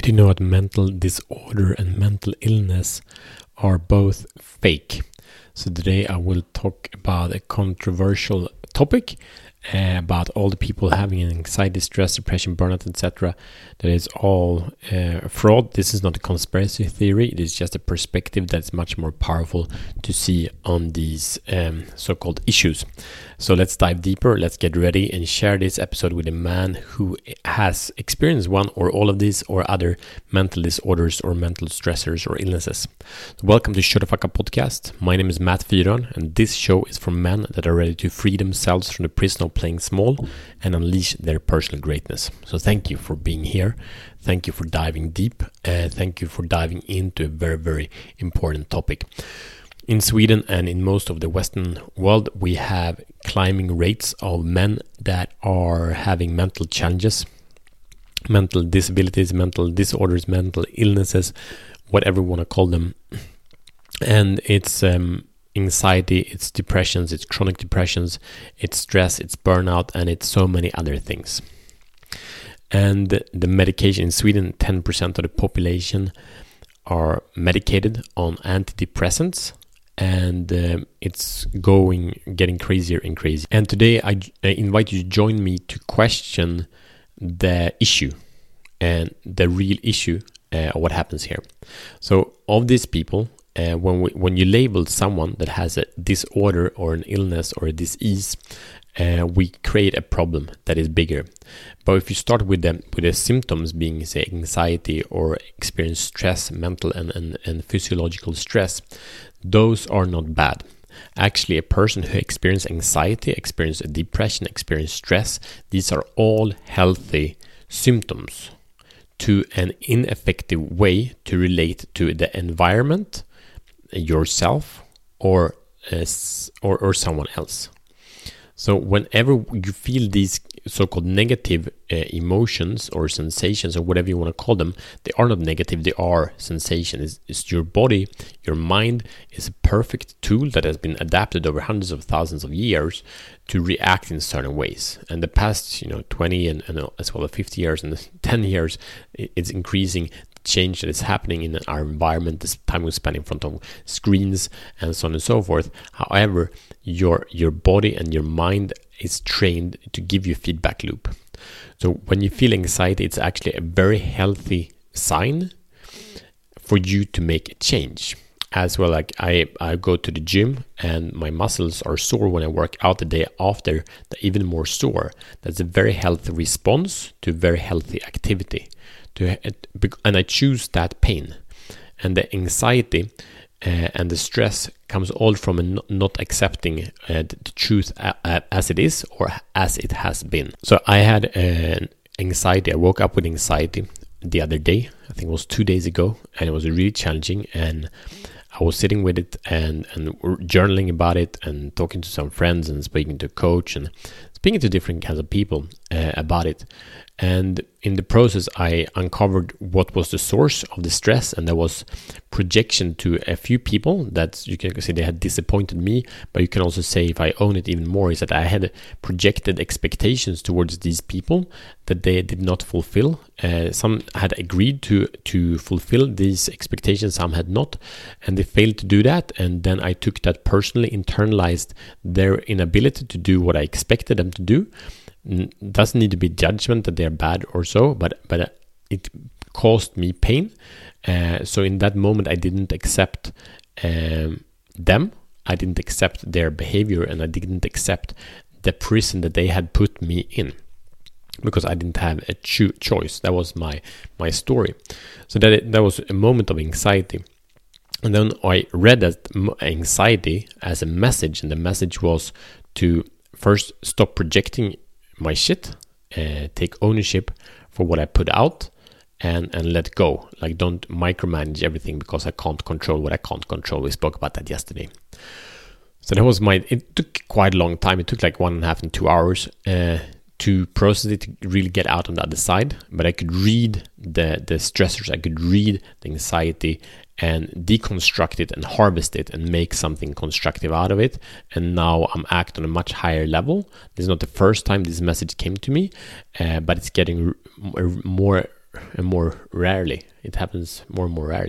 Did you know that mental disorder and mental illness are both fake? So today I will talk about a controversial topic about all the people having anxiety, stress, depression, burnout, etc. That is all fraud. This is not a conspiracy theory. It is just a perspective that's much more powerful to see on these so-called issues. So let's dive deeper. Let's get ready and share this episode with a man who has experienced one or all of these or other mental disorders or mental stressors or illnesses. So welcome to Shut the Fuck Up Podcast. My name is Matt Fyron, and this show is for men that are ready to free themselves from the prison of playing small and unleash their personal greatness. So thank you for being here. Thank you for diving deep. Thank you for diving into a very, very important topic. In Sweden and in most of the Western world, we have climbing rates of men that are having mental challenges, mental disabilities, mental disorders, mental illnesses, whatever you want to call them. And it's anxiety, it's depressions, it's chronic depressions, it's stress, it's burnout, and it's so many other things. And the medication in Sweden, 10% of the population are medicated on antidepressants. And it's getting crazier and crazier. And today I invite you to join me to question the issue and the real issue of what happens here. So of these people, when you label someone that has a disorder or an illness or a disease, we create a problem that is bigger. But if you start with the symptoms being, say, anxiety or experience stress, mental and physiological stress, those are not bad. Actually, a person who experiences anxiety, experiences depression, experiences stress, these are all healthy symptoms to an ineffective way to relate to the environment, yourself, or someone else. So whenever you feel these so-called negative emotions or sensations or whatever you want to call them, they are not negative, they are sensations. It's your body, your mind is a perfect tool that has been adapted over hundreds of thousands of years to react in certain ways. And the past 20 and as well as 50 years and 10 years, it's increasing change that is happening in our environment, this time we spend in front of screens and so on and so forth. However, your body and your mind is trained to give you a feedback loop. So when you feel anxiety, it's actually a very healthy sign for you to make a change. As well, like I go to the gym and my muscles are sore when I work out the day after, they're even more sore. That's a very healthy response to very healthy activity. And I choose that pain. And the anxiety and the stress comes all from not accepting the truth as it is or as it has been. So I had anxiety. I woke up with anxiety the other day. I think it was 2 days ago, and it was really challenging. And I was sitting with it and journaling about it and talking to some friends and speaking to a coach and speaking to different kinds of people about it. And in the process, I uncovered what was the source of the stress, and there was projection to a few people that you can say they had disappointed me, but you can also say, if I own it even more, is that I had projected expectations towards these people that they did not fulfill. Some had agreed to fulfill these expectations, some had not, and they failed to do that. And then I took that personally, internalized their inability to do what I expected them to do. Doesn't need to be judgment that they're bad or so, but it caused me pain. So in that moment, I didn't accept them. I didn't accept their behavior, and I didn't accept the prison that they had put me in, because I didn't have a choice. That was my story. So that was a moment of anxiety. And then I read that anxiety as a message, and the message was to first stop projecting my shit, take ownership for what I put out, and let go. Like, don't micromanage everything because I can't control what I can't control. We spoke about that yesterday. So that was it took quite a long time. It took like 1.5 and 2 hours to process it, to really get out on the other side. But I could read the stressors, I could read the anxiety and deconstruct it and harvest it and make something constructive out of it. And now I'm acting on a much higher level. This is not the first time this message came to me, but it's getting more and more rarely. It happens more and more rarely,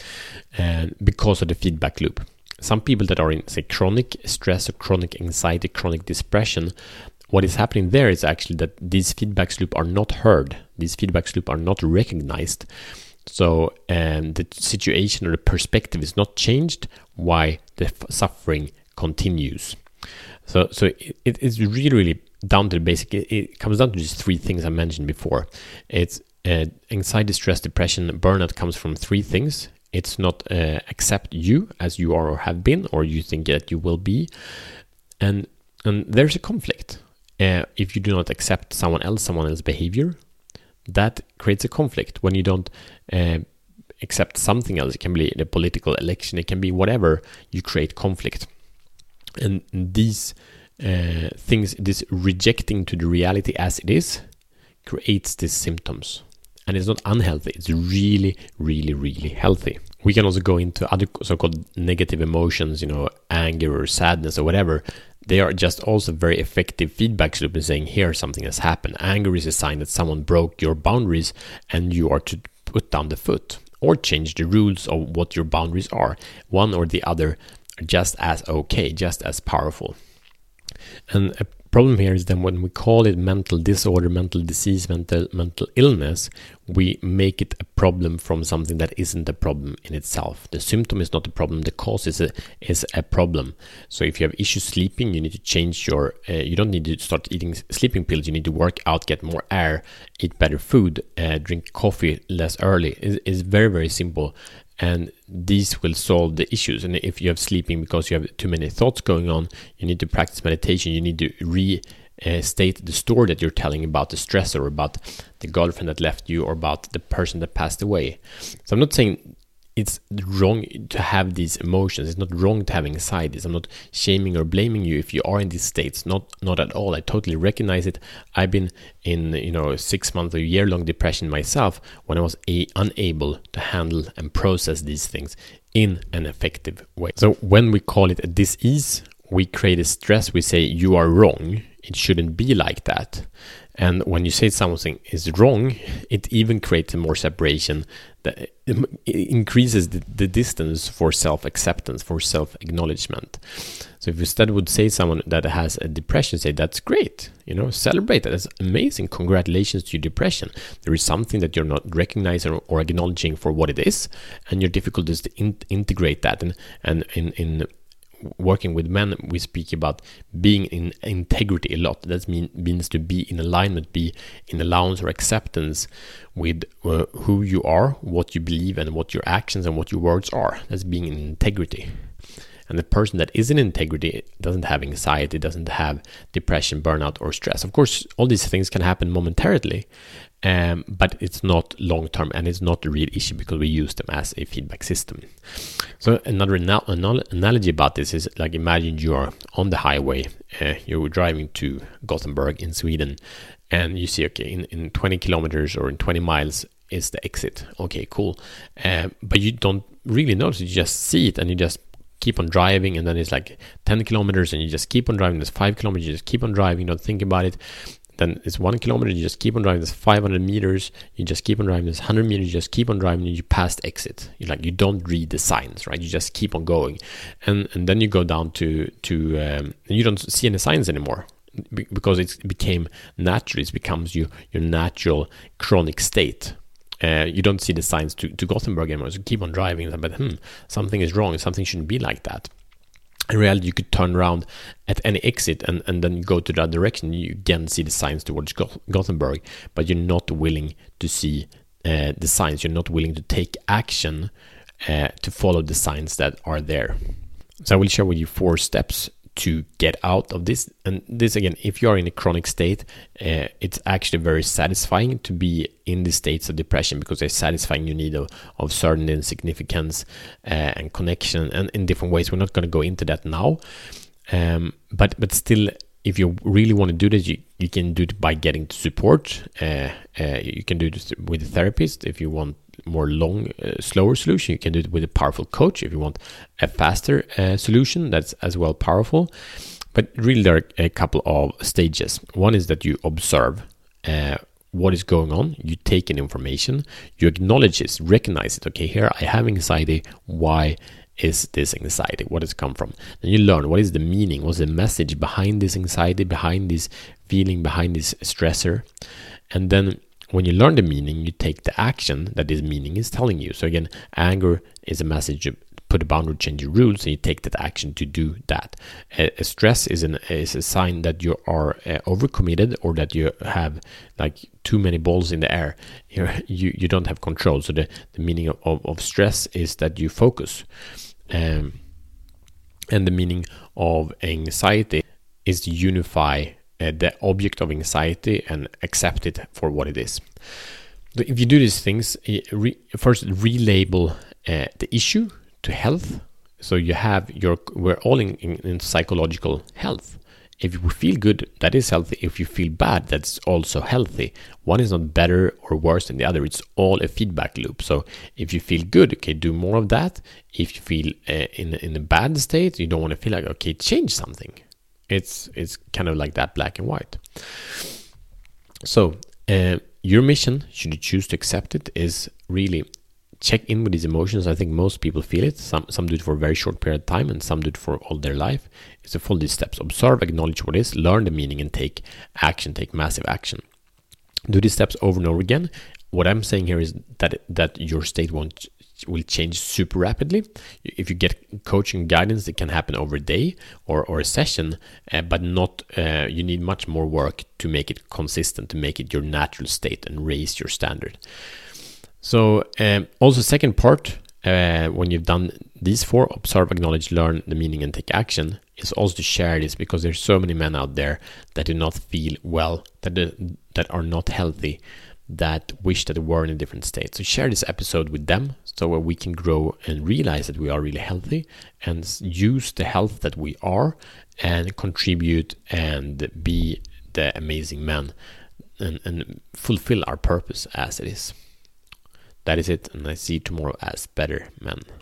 and because of the feedback loop. Some people that are in, say, chronic stress or chronic anxiety, chronic depression, what is happening there is actually that these feedback loops are not heard. These feedback loops are not recognized. So the situation or the perspective is not changed, why the suffering continues. So it is really down to the basic. It comes down to just three things I mentioned before. It's anxiety, stress, depression, burnout comes from three things. It's not accept you as you are or have been, or you think that you will be, and there's a conflict. If you do not accept someone else's behavior, that creates a conflict. When you don't accept something else, it can be the political election, it can be whatever, you create conflict. And these things, this rejecting to the reality as it is, creates these symptoms. And it's not unhealthy, it's really, really, really healthy. We can also go into other so-called negative emotions, anger or sadness or whatever. They are just also very effective feedback loop in saying, here something has happened. Anger is a sign that someone broke your boundaries and you are to put down the foot or change the rules of what your boundaries are. One or the other are just as okay, just as powerful. And a problem here is then when we call it mental disorder, mental disease, mental illness, we make it a problem from something that isn't a problem in itself. The symptom is not a problem, the cause is a problem. So if you have issues sleeping, you need to change you don't need to start eating sleeping pills, you need to work out, get more air, eat better food, drink coffee less early. It's very, very simple. And these will solve the issues. And if you have sleeping because you have too many thoughts going on, you need to practice meditation. You need to restate the story that you're telling about the stressor, or about the girlfriend that left you, or about the person that passed away. So I'm not saying it's wrong to have these emotions. It's not wrong to have anxieties. I'm not shaming or blaming you if you are in these states. Not at all. I totally recognize it. I've been in 6 months or year-long depression myself when I was unable to handle and process these things in an effective way. So when we call it a disease, we create a stress. We say you are wrong. It shouldn't be like that. And when you say something is wrong, it even creates more separation. That it increases the distance for self-acceptance, for self-acknowledgement. So if you instead would say someone that has a depression, say that's great, celebrate that. That's amazing. Congratulations to your depression. There is something that you're not recognizing or acknowledging for what it is, and your difficulty is to integrate that. And in working with men, we speak about being in integrity a lot. That means to be in alignment, be in allowance or acceptance with who you are, what you believe, and what your actions and what your words are. That's being in integrity. And the person that is in integrity doesn't have anxiety, doesn't have depression, burnout, or stress. Of course, all these things can happen momentarily, but it's not long-term, and it's not a real issue because we use them as a feedback system. So another analogy about this is like, imagine you are on the highway, you're driving to Gothenburg in Sweden, and you see, okay, in 20 kilometers or in 20 miles is the exit. Okay, cool. But you don't really notice, you just see it and you just keep on driving, and then it's like 10 kilometers and you just keep on driving. There's 5 kilometers, you just keep on driving, you don't think about it. Then it's 1 kilometer, you just keep on driving. There's 500 meters, you just keep on driving. There's 100 meters, you just keep on driving, and you pass the exit. You don't read the signs, right? You just keep on going, and then you go down to and you don't see any signs anymore because it became natural. It becomes your natural chronic state. You don't see the signs to Gothenburg anymore. So keep on driving, but something is wrong. Something shouldn't be like that. In reality, you could turn around at any exit and then you go to that direction. You again see the signs towards Gothenburg, but you're not willing to see the signs. You're not willing to take action to follow the signs that are there. So I will share with you 4 steps to get out of this. And this, again, if you are in a chronic state, it's actually very satisfying to be in the states of depression, because they're satisfying your need of certainty and significance and connection, and in different ways. We're not going to go into that now, but still, if you really want to do this, you can do it by getting support. You can do it with a therapist. If you want more slower solution, you can do it with a powerful coach. If you want a faster solution, that's as well powerful. But really, there are a couple of stages. One is that you observe what is going on. You take in information, you acknowledge it, recognize it. Okay, here I have anxiety. Why is this anxiety? What does it come from? Then you learn what is the meaning, what's the message behind this anxiety, behind this feeling, behind this stressor. And then when you learn the meaning, you take the action that this meaning is telling you. So again, anger is a message of put a boundary, change your rules, and you take that action to do that. Stress is a sign that you are overcommitted, or that you have like too many balls in the air. You don't have control. So the meaning of stress is that you focus. And the meaning of anxiety is to unify the object of anxiety and accept it for what it is. If you do these things, first relabel the issue to health. So you have we're all in psychological health. If you feel good, that is healthy. If you feel bad, that's also healthy. One is not better or worse than the other. It's all a feedback loop. So if you feel good, okay, do more of that. If you feel in a bad state, you don't want to feel like, okay, change something. It's kind of like that, black and white. So your mission, should you choose to accept it, is really check in with these emotions. I think most people feel it. Some do it for a very short period of time, and some do it for all their life. It's to follow these steps: observe, acknowledge what is, learn the meaning, and take action. Take massive action. Do these steps over and over again. What I'm saying here is that your state will change super rapidly. If you get coaching guidance, it can happen over a day or a session, but not. You need much more work to make it consistent, to make it your natural state and raise your standard. So also second part, when you've done these 4, observe, acknowledge, learn the meaning, and take action, is also to share this, because there's so many men out there that do not feel well, that are not healthy, that wish that they were in a different state. So share this episode with them, so where we can grow and realize that we are really healthy, and use the health that we are and contribute and be the amazing men and fulfill our purpose as it is. That is it, and I see you tomorrow as better men.